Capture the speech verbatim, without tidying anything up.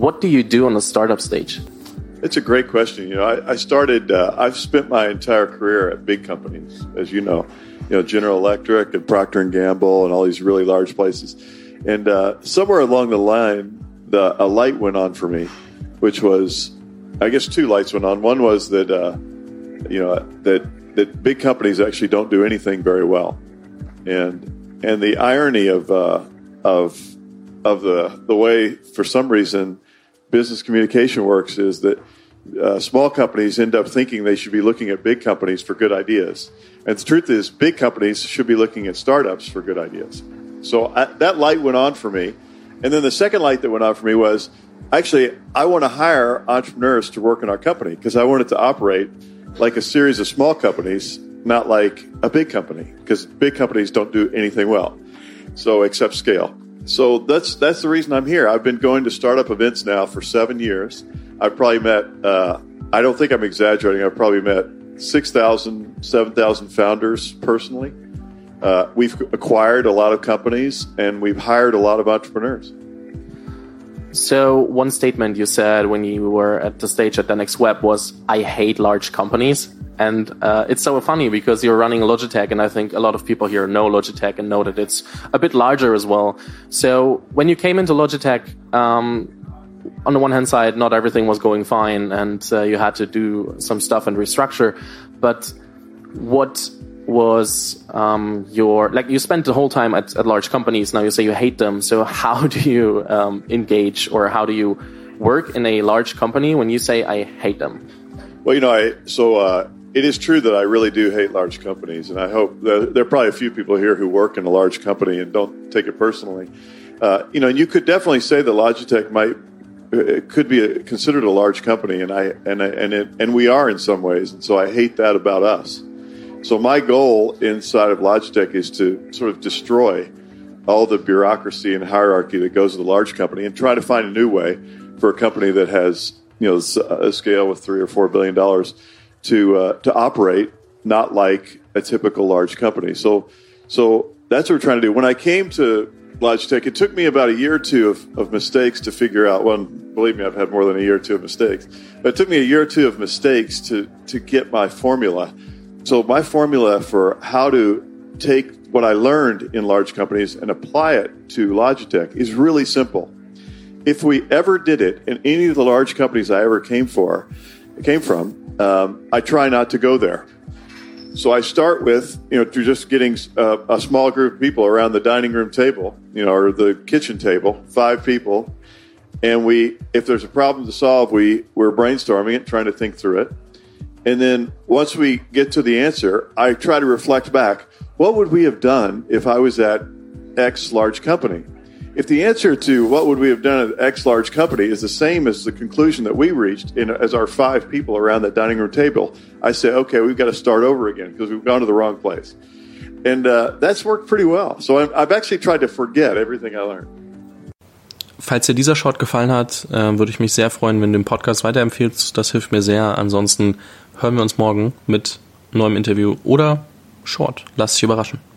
what do you do on the startup stage? It's a great question. You know, I, I started, uh, I've spent my entire career at big companies, as you know, you know, General Electric and Procter and Gamble and all these really large places. And uh, somewhere along the line, the, a light went on for me, which was, I guess two lights went on. One was that, uh, you know, that, that big companies actually don't do anything very well. And, and the irony of, uh, of, of the, the way, for some reason, business communication works is that uh, small companies end up thinking they should be looking at big companies for good ideas. And the truth is, big companies should be looking at startups for good ideas. So I, that light went on for me. And then the second light that went on for me was, actually, I want to hire entrepreneurs to work in our company because I want it to operate like a series of small companies, not like a big company, because big companies don't do anything well, so except scale. So that's that's the reason I'm here. I've been going to startup events now for seven years. I've probably met, uh, I don't think I'm exaggerating, I've probably met six thousand, seven thousand founders personally. Uh, we've acquired a lot of companies, and we've hired a lot of entrepreneurs. So one statement you said when you were at the stage at the Next Web was, I hate large companies. And uh, it's so funny because you're running Logitech, and I think a lot of people here know Logitech and know that it's a bit larger as well. So when you came into Logitech, um, on the one hand side, not everything was going fine, and uh, you had to do some stuff and restructure. But what was um, your, like you spent the whole time at, at large companies, now you say you hate them. So how do you um, engage, or how do you work in a large company when you say I hate them? Well, you know, I so uh, it is true that I really do hate large companies, and I hope that there are probably a few people here who work in a large company and don't take it personally. Uh, you know, and you could definitely say that Logitech might it could be a, considered a large company, and I and I, and it, and we are in some ways, and so I hate that about us. So my goal inside of Logitech is to sort of destroy all the bureaucracy and hierarchy that goes with a large company, and try to find a new way for a company that has, you know, a scale with three or four billion dollars to uh, to operate not like a typical large company. So so that's what we're trying to do. When I came to Logitech, it took me about a year or two of, of mistakes to figure out. Well, believe me, I've had more than a year or two of mistakes. But it took me a year or two of mistakes to to get my formula. So my formula for how to take what I learned in large companies and apply it to Logitech is really simple. If we ever did it in any of the large companies I ever came for, came from, um, I try not to go there. So I start with, you know, to just getting a, a small group of people around the dining room table, you know, or the kitchen table, five people, and we, if there's a problem to solve, we we're brainstorming it, trying to think through it. And then once we get to the answer, I try to reflect back. What would we have done if I was at X large company? If the answer to what would we have done at X large company is the same as the conclusion that we reached in, as our five people around that dining room table, I say, okay, we've got to start over again because we've gone to the wrong place. And uh, that's worked pretty well. So I've, I've actually tried to forget everything I learned. Falls dir dieser Short gefallen hat, äh, würde ich mich sehr freuen, wenn du den Podcast weiterempfiehlst. Das hilft mir sehr. Ansonsten hören wir uns morgen mit neuem Interview oder Short. Lass dich überraschen.